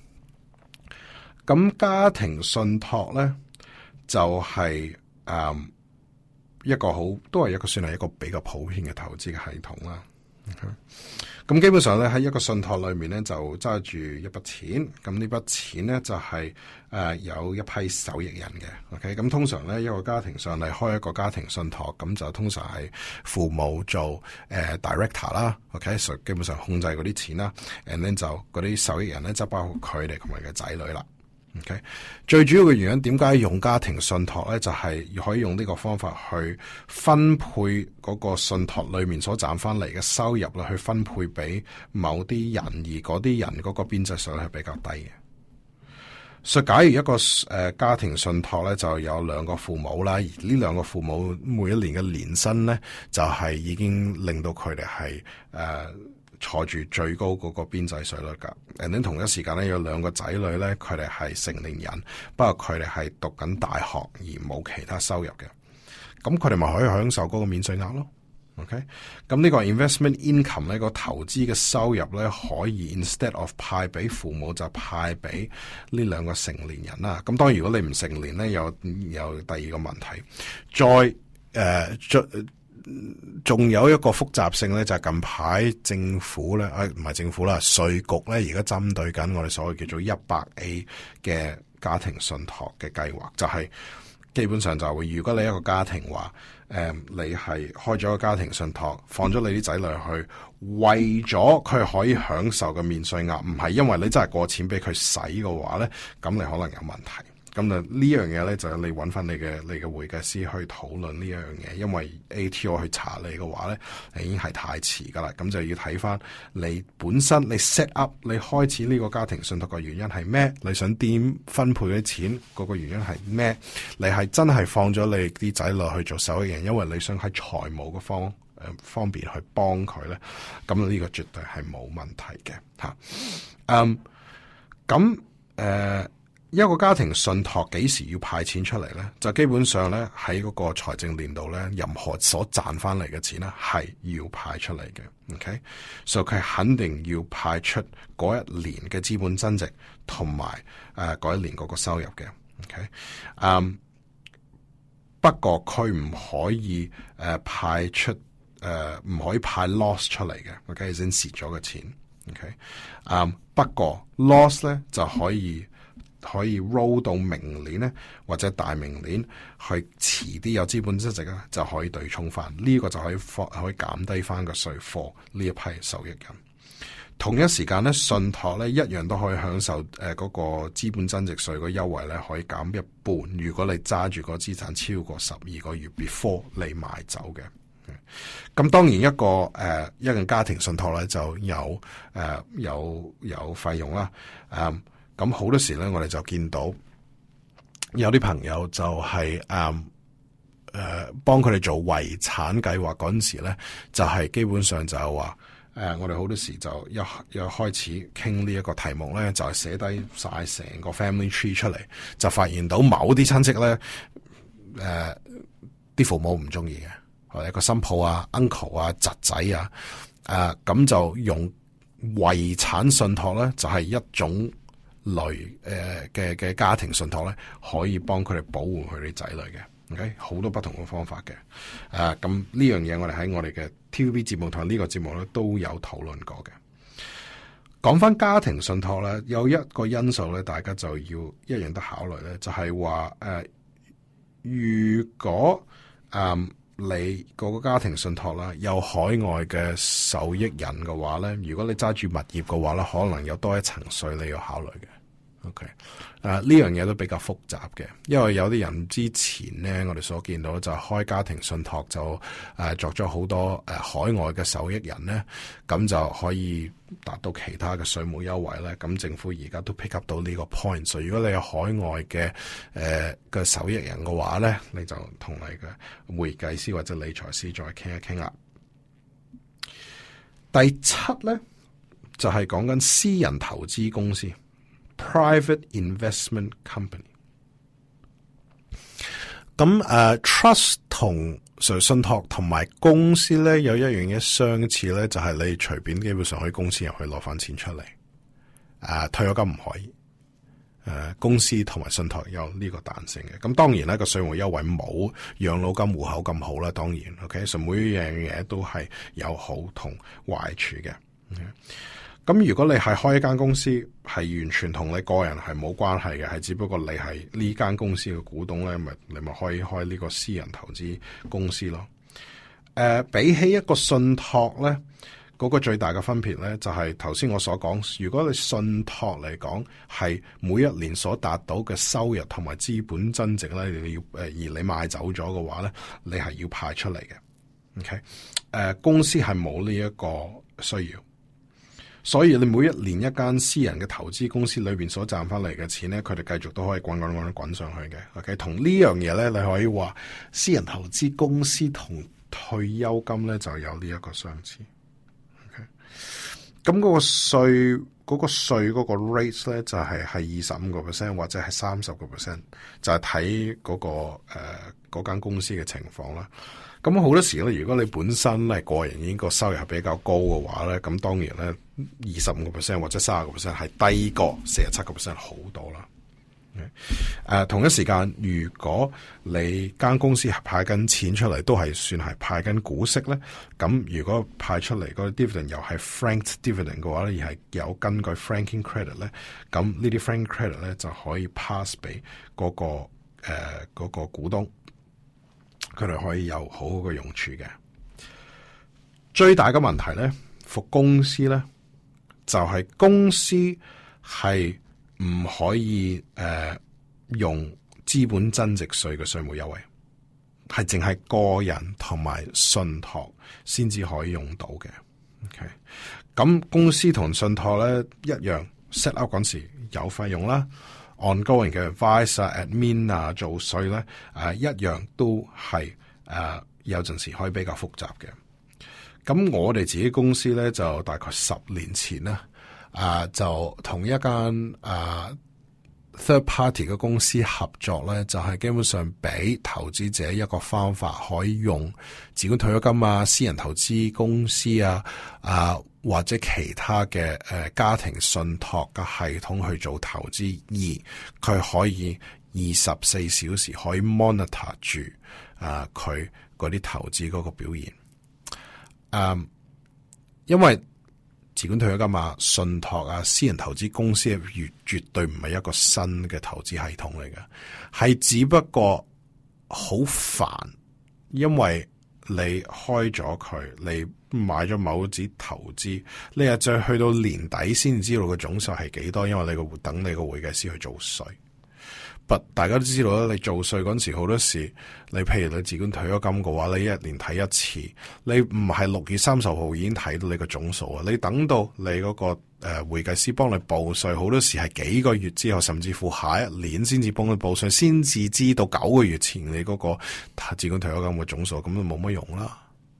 咁家庭信託咧就係、是、誒、嗯、一個好都係一個算係一個比較普遍嘅投資嘅系統啦。咁、okay? 基本上咧喺一個信託裏面咧就揸住一筆錢，咁呢筆錢咧就係、是、誒、呃、有一批受益人嘅。OK， 咁通常咧一個家庭上嚟開一個家庭信託，咁就通常係父母做誒、呃、director 啦。OK，所以基本上控制嗰啲錢啦 and then 就嗰啲受益人咧就包括佢哋同埋嘅仔女啦。OK， 最主要嘅原因點解用家庭信託咧，就係、是、可以用呢個方法去分配嗰個信託裏面所賺翻嚟嘅收入啦，去分配俾某啲人，而嗰啲人嗰個邊際稅係比較低嘅。所以假如一個誒、呃、家庭信託咧，就有兩個父母啦，而呢兩個父母每一年嘅年薪咧，就係、是、已經令到佢哋係誒坐住最高嗰個邊際稅率噶。誒，喺同一時間咧，有兩個仔女咧，佢哋係成年人，不過佢哋係讀緊大學而冇其他收入嘅，咁佢哋咪可以享受嗰個免稅額咯。OK， 咁呢個 investment income 呢個投資嘅收入咧，可以 instead of 派俾父母就派俾呢兩個成年人啦。咁當然如果你唔成年咧，有有第二個問題，再誒、呃仲有一個複雜性咧，就係、是、近排政府咧，誒唔係政府啦，稅局咧而家針對緊我哋所謂叫做一百 A 嘅家庭信託嘅計劃，就係、是、基本上就會，如果你一個家庭話，誒、呃、你係開咗個家庭信託，放咗你啲仔女去，為咗佢可以享受嘅免稅額，唔係因為你真係過錢俾佢使嘅話咧，咁你可能有問題。咁就呢樣嘢咧，就係你揾翻你嘅你嘅會計師去討論呢樣嘢，因為 A T O 去查你嘅話咧，已經係太遲噶啦。咁就要睇翻你本身你 set up 你開始呢個家庭信託嘅原因係咩？你想點分配啲錢嗰個原因係咩？你係真係放咗你啲仔女去做受益人，因為你想喺財務嘅方誒、呃、方面去幫佢咧，咁呢個絕對係冇問題嘅吓。嗯，咁誒。呃一個家庭信託幾時要派錢出嚟咧？就基本上咧喺嗰個財政年度咧，任何所賺翻嚟嘅錢咧係要派出嚟嘅。OK， 所以佢肯定要派出嗰一年嘅資本增值同埋誒嗰一年嗰個收入嘅。OK， 嗯、um，不過佢唔可以誒、呃、派出誒唔、呃、可以派 loss 出嚟嘅。OK， 先蝕咗嘅錢。OK， 嗯、um，不過 loss 咧就可以。可以 roll 到明年咧，或者大明年去遲啲有資本增值咧，就可以對沖翻呢、這個就可以放可以減低翻個稅貨呢一批受益人。同一時間咧，信託咧一樣都可以享受誒嗰、呃那個資本增值稅個優惠咧，可以減一半。如果你揸住個資產超過十二個月 before 你賣走嘅，咁、嗯、當然一個誒、呃、一個家庭信託咧就有誒、呃、有有費用啦，誒、呃。咁好多時咧，我哋就見到有啲朋友就係誒誒幫佢哋做遺產計劃嗰陣時咧，就係、是、基本上就係話誒，我哋好多時就一一開始傾呢一個題目咧，就係寫低晒成個 family tree 出嚟，就發現到某啲親戚咧誒啲父母唔中意嘅，或者一個新抱啊、uncle 啊、侄仔啊，誒、呃、咁就用遺產信託咧，就係、是、一種。類誒嘅嘅家庭信託咧，可以幫佢哋保護佢哋仔女嘅。OK， 好多不同嘅方法嘅。誒咁呢樣嘢，我哋喺我哋嘅 T V B 節目同呢個節目咧都有討論過嘅。講翻家庭信託咧，有一個因素咧，大家就要一樣得考慮咧，就係話誒，如果誒、呃、你嗰個家庭信託啦有海外嘅受益人嘅話咧，如果你揸住物業嘅話咧，可能有多一層稅你要考慮嘅。 OK， 啊呢樣嘢都比較複雜嘅，因為有啲人之前咧，我哋所見到就開家庭信託就誒、啊、作咗好多誒、啊、海外嘅受益人咧，咁就可以達到其他嘅稅務優惠咧。咁政府而家都 pick up 到呢個 point， 所以如果你有海外嘅誒嘅受益人嘅話咧，你就同你嘅會計師或者理財師再傾一傾啦。第七咧就係講緊私人投資公司。Private investment company， 咁誒、uh, trust 同信託同埋公司咧有一樣嘢相似咧，就係、是、你隨便基本上去公司入去攞翻錢出嚟，誒、uh, 退休金唔可以，誒、uh, 公司同埋信託有呢個彈性嘅。咁當然咧個稅務優惠冇養老金戶口咁好啦，當然 ，OK， 所以每樣嘢都係有好同壞處嘅。Okay? 咁如果你係開一間公司，係完全同你個人係冇關係嘅，係只不過你係呢間公司嘅股東咧，咪你咪可以開呢個私人投資公司咯。誒、呃，比起一個信託咧，嗰、那個最大嘅分別咧，就係頭先我所講，如果你信託嚟講係每一年所達到嘅收入同埋資本增值咧，你要誒而你賣走咗嘅話咧，你係要派出嚟嘅。OK，誒、呃，公司係冇呢一個需要。所以你每一年一間私人嘅投資公司裏邊所賺翻嚟嘅錢咧，佢哋繼續都可以滾滾滾滾上去嘅。OK， 同呢樣嘢咧，你可以話私人投資公司同退休金咧就有呢一個相似。OK，咁嗰個稅嗰個稅嗰個 rate 咧就係係二十五個 percent 或者係三十個 percent， 就係睇嗰個誒嗰間公司嘅情況啦。咁好多時咧，如果你本身係個人已經個收入係比較高嘅話咧，咁當然咧，二十五個 percent 或者三十個 percent 係低過四十七個 percent 好多啦。誒、呃，同一時間，如果你間公司係派緊錢出嚟，都係算係派緊股息咧，咁如果派出嚟嗰個 dividend 又係 franked dividend 嘅話咧，而係有根據 franking credit 咧，咁呢啲 franking credit 咧就可以 pass 俾嗰、那個誒嗰、呃那個股東。佢哋可以有好好嘅用處嘅。最大嘅問題咧，服公司咧，就係、是、公司係唔可以誒、呃、用資本增值稅嘅稅務優惠，係淨係個人同埋信託先至可以用到嘅。OK，咁公司同信託咧一樣 set up 嗰時有費用啦。ongoing 嘅 advice 啊、admin 啊、做稅咧，誒、啊、一樣都係誒、啊、有陣時可以比較複雜嘅。咁我哋自己公司咧就大概十年前啦，啊就同一間誒、啊、third party 嘅公司合作咧，就係、是、基本上俾投資者一個方法，可以用自管退休金啊、私人投資公司啊、啊或者其他嘅誒、呃、家庭信託嘅系統去做投資，而佢可以二十四小時可以 monitor 住啊佢嗰啲投資嗰個表現。嗯，因為自管退休金啊、信託啊、私人投資公司絕絕對唔係一個新嘅投資系統嚟嘅，係只不過好煩，因為你開咗佢，你買咗某隻投資，你又再去到年底先知道個總數係幾多，因為你個等你個會計師去做稅。But 大家都知道啦，你做稅嗰陣時好多時，你譬如你自管退休金嘅話，你一年睇一次，你唔係六月三十號已經睇到你個總數啊，你等到你嗰、那個誒、呃、會計師幫你報稅，好多時係幾個月之後，甚至乎下一年先至幫你報稅，先至知道九個月前你嗰個自管退休金嘅總數，咁就冇乜用啦。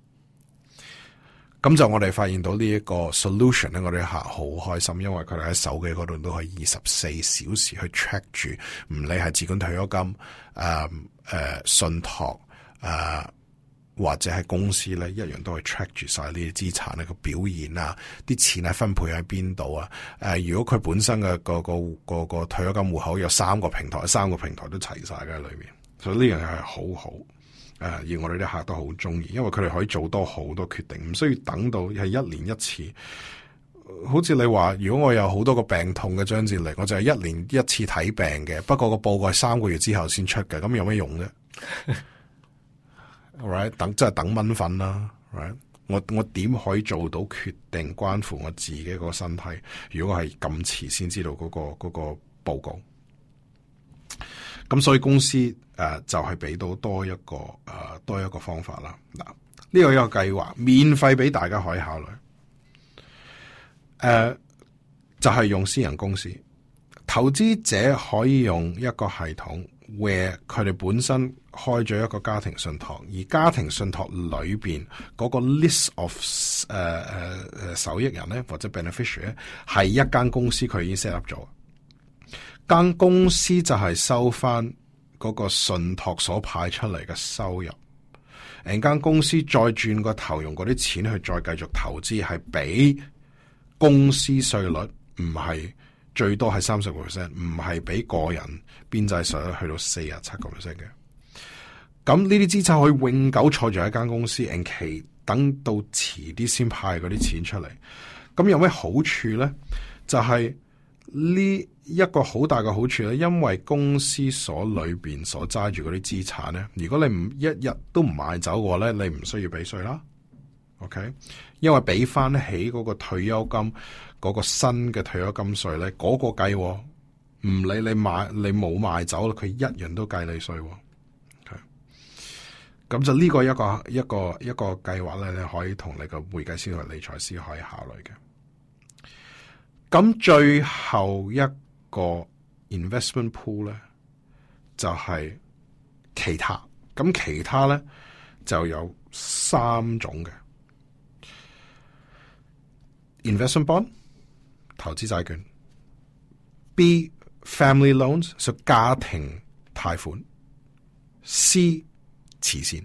咁就我哋發現到呢一個 solution 咧，我哋客好開心，因為佢哋喺手機嗰度都可以二十四小時去 check 住，唔理係自管退休金、誒、呃、誒、呃、信託誒、呃、或者係公司咧，一樣都係 check 住晒呢啲資產咧個表現啊，啲錢係分配喺邊度啊？誒、呃，如果佢本身嘅個個個個退休金戶口有三個平台，三個平台都齊晒嘅喺裏面，所以呢樣嘢係好好。誒，而我哋啲客都好中意，因為佢哋可以做多好多決定，唔需要等到係一年一次。好似你話，如果我有好多個病痛嘅張志力，我就係一年一次睇病嘅，不過個報告係三個月之後先出嘅，咁有咩用啫？Right， 等即係等蚊瞓啦。Right，我我點可以做到決定關乎我自己個身體？如果係咁遲先知道嗰個嗰個報告。咁所以公司誒、呃、就係、是、俾到多一個誒、呃、多一個方法啦。嗱，呢個一個計劃免費俾大家可以考慮。誒、呃、就係、是、用私人公司，投資者可以用一個系統 where 佢哋本身開咗一個家庭信託，而家庭信託裏邊嗰個 list of 誒誒誒受益人咧或者 beneficiary 咧係一間公司佢已經 set up 咗。間公司就係收翻嗰個信託所派出嚟嘅收入，誒間公司再轉個頭用嗰啲錢去再繼續投資，係俾公司稅率唔係最多係三十個 percent， 唔係俾個人邊際稅率去到四十七個 percent 嘅。咁呢啲資產可以永久坐住喺間公司，延期等到遲啲先派嗰啲錢出嚟。咁有咩好處咧？就係、是。呢一個好大嘅好處咧，因為公司所裏邊所揸住嗰啲資產咧，如果你唔一日都唔賣走嘅話咧，你唔需要俾稅啦。OK， 因為俾翻起嗰個退休金嗰、嗰個新嘅退休金稅咧，嗰、嗰個計，唔理你賣你冇賣走，佢一樣都計你稅。OK，咁就呢個一個一個一個計劃咧，你可以同你個會計師同理財師可以考慮嘅。咁最後一個 investment pool 咧，就係、是、其他。咁其他咧就有三種嘅 investment bond 投資債券 ，B family loans 屬家庭貸款 ，C 慈善。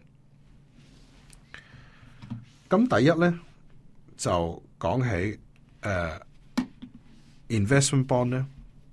咁第一咧就講起誒。呃investment bond 咧，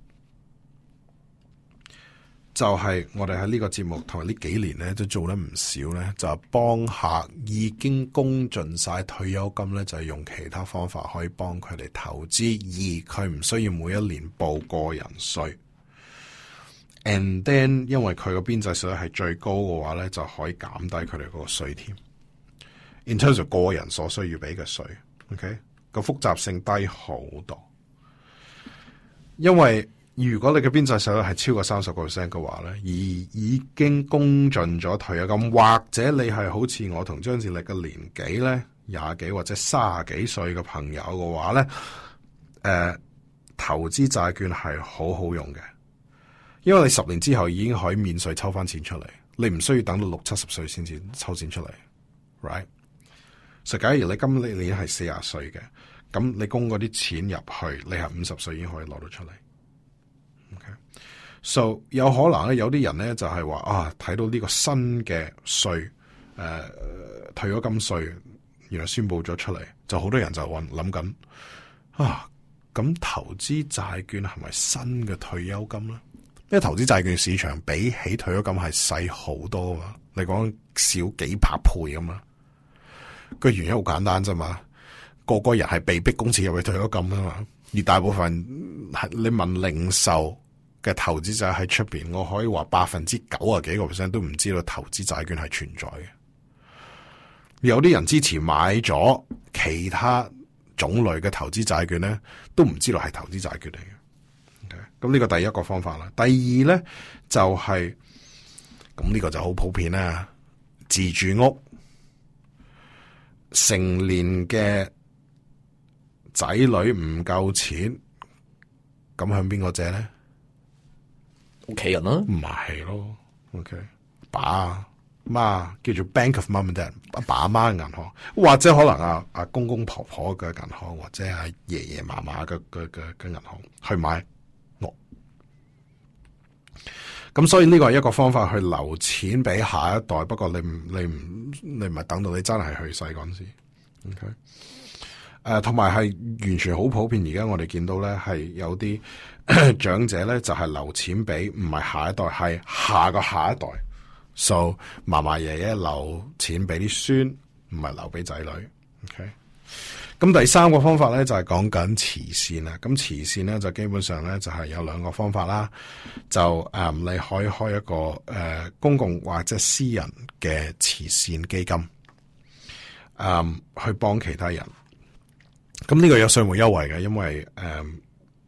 就係、是、我哋喺呢個節目同埋呢幾年咧都做得唔少咧，就係、是、幫客已經供盡晒退休金咧，就係、是、用其他方法可以幫佢哋投資，而佢唔需要每一年報個人稅。And then 因為佢個邊際稅率係最高嘅話咧，就可以減低佢哋嗰個稅添。In terms of 個人所需要俾嘅稅 ，OK 個複雜性低好多。因為如果你嘅邊際稅率係超過三十個 percent 嘅話咧，而已經供盡咗退休金，或者你係好似我同張志力嘅年紀咧，廿幾或者卅幾歲嘅朋友嘅話咧，誒、呃，投資債券係好好用嘅，因為你十年之後已經可以免稅抽翻錢出嚟，你唔需要等到六七十歲先至抽錢出嚟 ，right？ 所以假如你今年你係四十歲嘅。咁你供嗰啲錢入去，你係五十歲已經可以攞到出嚟。OK，so 有可能咧，有啲人咧就係話啊，睇到呢個新嘅稅，誒、呃，退休金稅，原來宣布咗出嚟，就好多人就諗諗緊啊，咁投資債券係咪新嘅退休金咧？因為投資債券市場比起退休金係細好多嘛，你講少幾百倍咁嘛，個原因好簡單啫嘛。個個人係被逼供錢入去退休金啊嘛，而大部分係你問零售嘅投資者喺出邊，我可以話百分之九啊幾個 percent 都唔知道投資債券係存在嘅。有啲人之前買咗其他種類嘅投資債券咧，都唔知道係投資債券嚟嘅。咁、okay? 呢個第一個方法啦。第二咧就係咁呢個就好普遍啦，自住屋成年嘅。仔女唔夠錢，咁向邊個借咧？ 屋企人啦， 唔係咯。OK，爸媽叫做 Bank of Mum and Dad， 阿爸阿媽嘅銀行，或者可能阿阿公公婆婆嘅銀行，或者係爺爺嫲嫲嘅嘅嘅嘅銀行去買屋。咁所以呢個係一個方法去留錢俾下一代。不過你唔你唔你唔係等到你真係去世嗰陣時。OK。誒，同埋係完全好普遍。而家我哋見到咧，係有啲長者咧，就係、是、留錢俾唔係下一代，係下個下一代。So 嫲嫲爺爺留錢俾啲孫，唔係留俾仔女。OK。咁第三個方法咧就係講緊慈善啦。咁慈善咧就基本上咧就係、是、有兩個方法啦。就誒、嗯，你可以開一個誒、呃、公共或者私人嘅慈善基金，誒、嗯、去幫其他人。咁呢個有稅務優惠嘅，因為誒、嗯、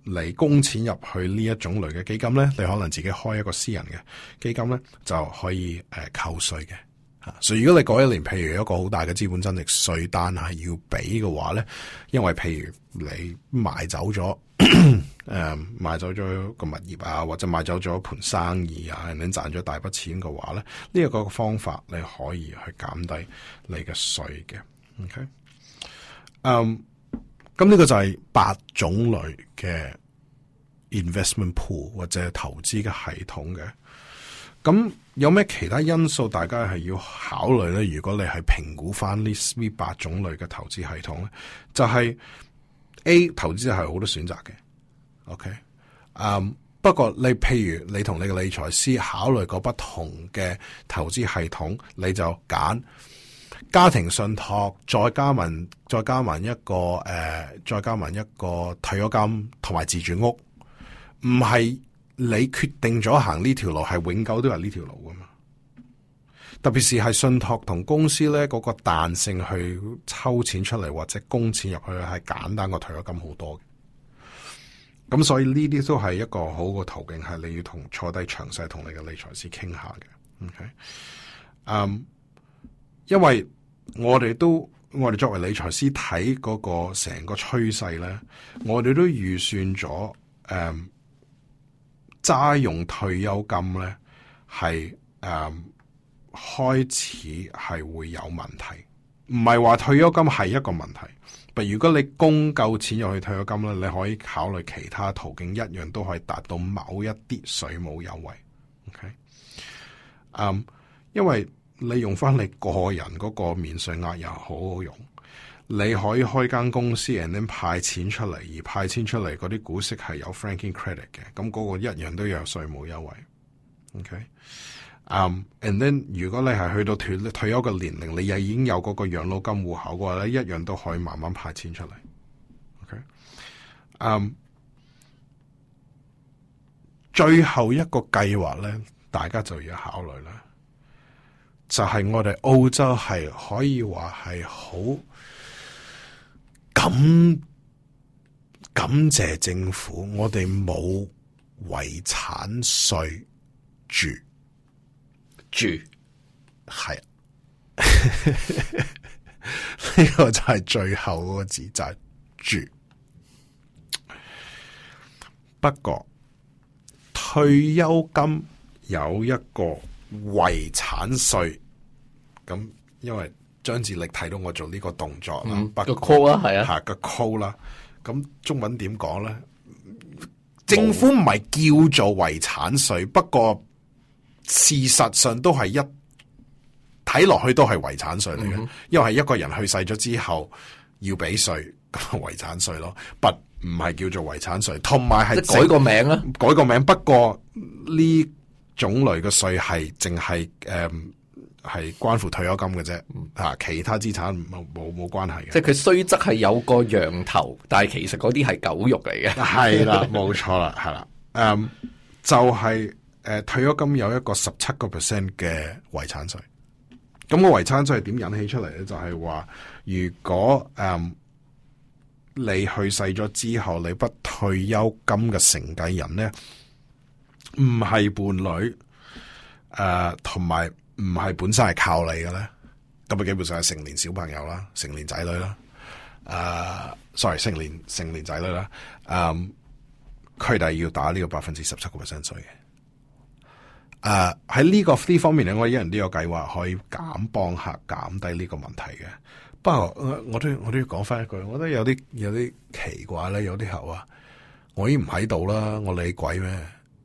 你供錢入去呢一種類嘅基金咧，你可能自己開一個私人嘅基金咧，就可以誒、呃、扣稅嘅吓。所以如果你嗰一年譬如有一個好大嘅資本增值稅單係要俾嘅話咧，因為譬如你賣走咗誒、呃、賣走咗個物業啊，或者賣走咗一盤生意啊，你賺咗大筆錢嘅話咧，呢、這、一個方法你可以去減低你嘅稅嘅。OK，嗯。咁呢個就係八種類嘅 investment pool 或者投資嘅系統嘅。咁有咩其他因素大家係要考慮咧？如果你係評估翻呢呢八種類嘅投資系統咧，就係、是、A 投資係好多選擇嘅。OK，嗯、um，不過你譬如你同你嘅理財師考慮過不同嘅投資系統，你就揀家庭信託，再加埋再加埋一個誒、呃，再加埋一個退休金同埋自住屋，唔係你決定咗行呢條路，係永久都係呢條路噶嘛。特別是係信託同公司咧，嗰、那個彈性去抽錢出嚟或者供錢入去，係簡單過退休金好多嘅。咁所以呢啲都係一個好嘅途徑，係你要同坐低詳細同你嘅理財師傾下嘅。OK，嗯、um。因為我哋都，我哋作為理財師睇嗰個成個趨勢咧，我哋都預算咗，誒、嗯，揸用退休金咧係誒開始係會有問題，唔係話退休金係一個問題，但如果你供夠錢入去退休金咧，你可以考慮其他途徑，一樣都可以達到某一啲稅務優惠。OK，嗯，因為你用翻你個人嗰個免稅額又好好用，你可以開間公司 and then 派錢出嚟，而派錢出嚟嗰啲股息係有 franking credit 嘅，咁嗰個一樣都有稅務優惠。OK，嗯、um, and then 如果你係去到退退休嘅年齡，你又已經有嗰個養老金戶口嘅話咧，一樣都可以慢慢派錢出嚟。OK，嗯、um, 最後一個計劃咧，大家就要考慮啦。就係我哋澳洲係可以話係好感感謝政府，我哋冇遺產稅住住係，呢個就係最後嗰個字就係、是、住。不過退休金有一個遺產稅，咁因為張志力睇到我做呢個動作啦， 嗯、 個 call 啦，係啊， 吓個 call 啦，咁中文點講咧？政府唔係叫做遺產稅，不過事實上都係一睇落去都係遺產稅嚟嘅，嗯、因為係一個人去世咗之後要俾稅，咁遺產稅咯，不唔係叫做遺產稅，同埋係改個名啦， 改個名，不過呢種類嘅稅係淨係誒係關乎退休金嘅啫，吓、嗯、其他資產冇冇冇關係嘅。 即係佢雖則係有個羊頭，但係其實嗰啲係狗肉嚟嘅。 係啦，冇錯啦，係啦，誒、嗯、就係、是、誒、呃、退休金有一個十七個 percent 嘅遺產稅。咁、個遺產稅係點引起出嚟咧？就係、是、話如果誒、嗯、你去世咗之後，你筆退休金嘅承繼人咧，唔係伴侶，誒，同埋唔係本身係靠你嘅咧，咁啊基本上係成年小朋友啦，成年仔女啦，誒、呃、，sorry， 成年成年仔女啦，誒，佢哋要打呢個百分之十七個 percent 稅嘅，誒，喺呢個呢方面咧，我一人都有計劃可以減幫客減低呢個問題嘅。不過我我都我都要講翻一句，我覺得有啲有啲奇怪咧，有啲客話我已經唔喺度啦，我理鬼咩？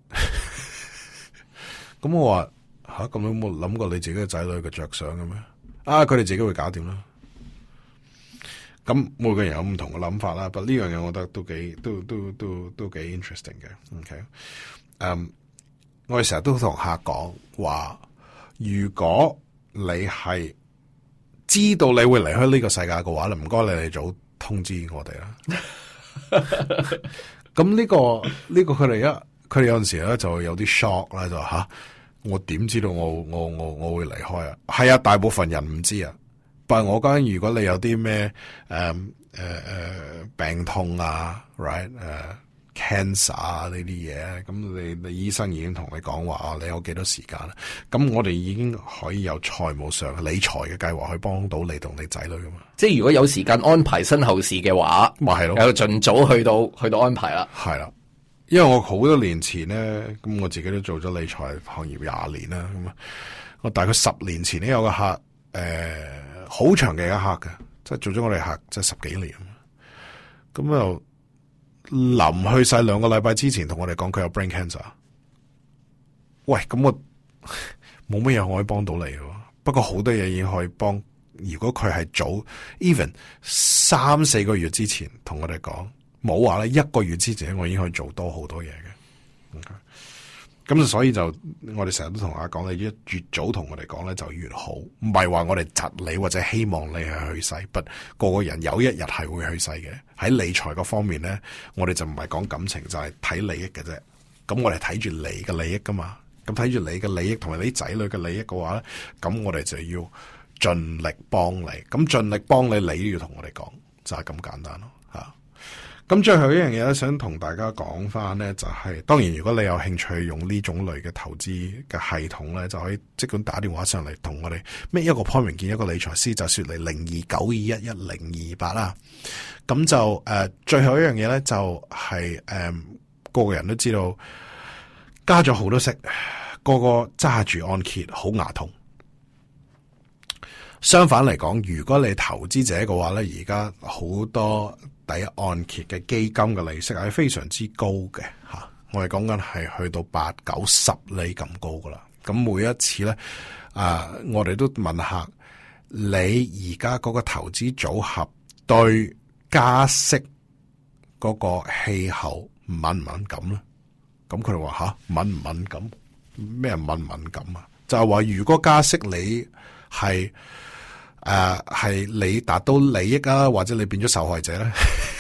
咁我話吓，咁有冇諗過你自己嘅仔女嘅着想嘅咩？啊，佢哋自己會搞掂啦。咁每個人有唔同嘅諗法啦，不過呢樣嘢我覺得都幾都都都都幾 interesting 嘅。OK，嗯、um, 我哋成日都同客講話，如果你係知道你會離開呢個世界嘅話咧，唔該你哋早通知我哋啦。咁呢、這個呢、這個佢哋一佢哋有陣時咧就會有啲 shock 啦，就吓、啊、我點知道我我我我會離開啊？係啊，大部分人唔知啊。但係我講，如果你有啲咩誒誒誒病痛啊 ，right 誒、uh, cancer 啊呢啲嘢，咁你你醫生已經同你講話，你有幾多時間啦？咁我哋已經可以有財務上理財嘅計劃去幫到你同你仔女噶嘛。 即係如果有時間安排身後事嘅話， 咪係咯， 有盡早去到去到安排啦。 係啦，因為我好多年前咧，咁我自己都做咗理財行業廿年啦，咁啊，我大概十年前咧有個客，誒、呃，好長嘅一個客嘅，即係做咗我哋客即係十幾年，咁又臨去世兩個禮拜之前同我哋講佢有 brain cancer。喂，咁我冇乜嘢可以幫到你嘅，不過好多嘢已經可以幫。如果佢係早 even 三四個月之前同我哋講，冇話咧一個月之前我已經可以做多好多嘢嘅。咁、okay? 所以就我哋成日都同大家講，你越早同我哋講咧就越好，唔係話我哋窒你或者希望你係去世，不個個人有一日係會去世嘅。喺理財嗰方面咧，我哋就唔係講感情，就係睇利益嘅啫。咁我哋睇住你嘅利益噶嘛，咁睇住你嘅利益同埋你仔女嘅利益嘅話咧，咁我哋就要盡力幫你，咁盡力幫你，你都要同我哋講，就係咁簡單咯吓。咁最後一樣嘢咧，想同大家講翻咧，就係當然如果你有興趣用呢種類嘅投資嘅系統咧，就可以即管打電話上嚟同我哋咩一個 appointment 見一個理財師，就說嚟零二九二一一零二八啦。咁就誒、呃，最後一樣嘢咧，就係、是、誒、呃，個個人都知道加咗好多息，個個揸住按揭好牙痛。相反嚟講，如果你投資者嘅話咧，而家好多第一按揭嘅基金嘅利息係非常之高嘅吓，我哋講緊係去到八九十厘咁高噶啦。咁每一次咧，啊，我哋都問下你而家嗰個投資組合對加息嗰個氣候敏唔敏感咧？咁佢哋話吓，敏唔敏感？咩敏唔敏感啊？就係話如果加息你係誒係你達到利益啊，或者你變咗受害者咧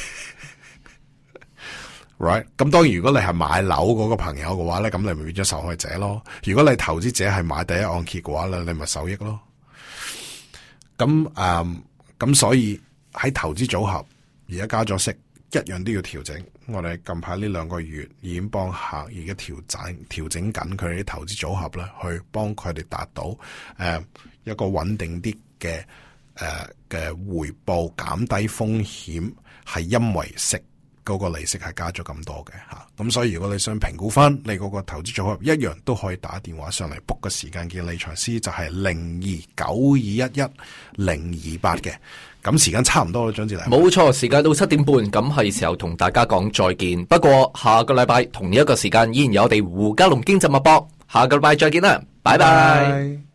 ？Right？ 咁當然如果你係買樓嗰個朋友嘅話咧，咁你咪變咗受害者咯。如果你投資者係買第一按揭嘅話咧，你咪受益咯。咁誒，咁、嗯、所以喺投資組合而家加咗息，一樣都要調整。我哋近排呢兩個月已經幫客而家調整調整緊佢哋啲投資組合咧，去幫佢哋達到誒、呃、一個穩定啲嘅誒嘅回報，減低風險，係因為息嗰個利息係加咗咁多嘅吓。咁所以如果你想評估翻你嗰個投資組合，一樣都可以打電話上嚟 book 個時間見理財師，就係零二九二一一零二八嘅。咁時間差唔多啦，張志禮。 冇錯，時間到七點半，咁係時候同大家講再見。不過下個禮拜同一個時間依然有我哋胡嘉龍經濟脈搏，下個禮拜再見啦，拜拜。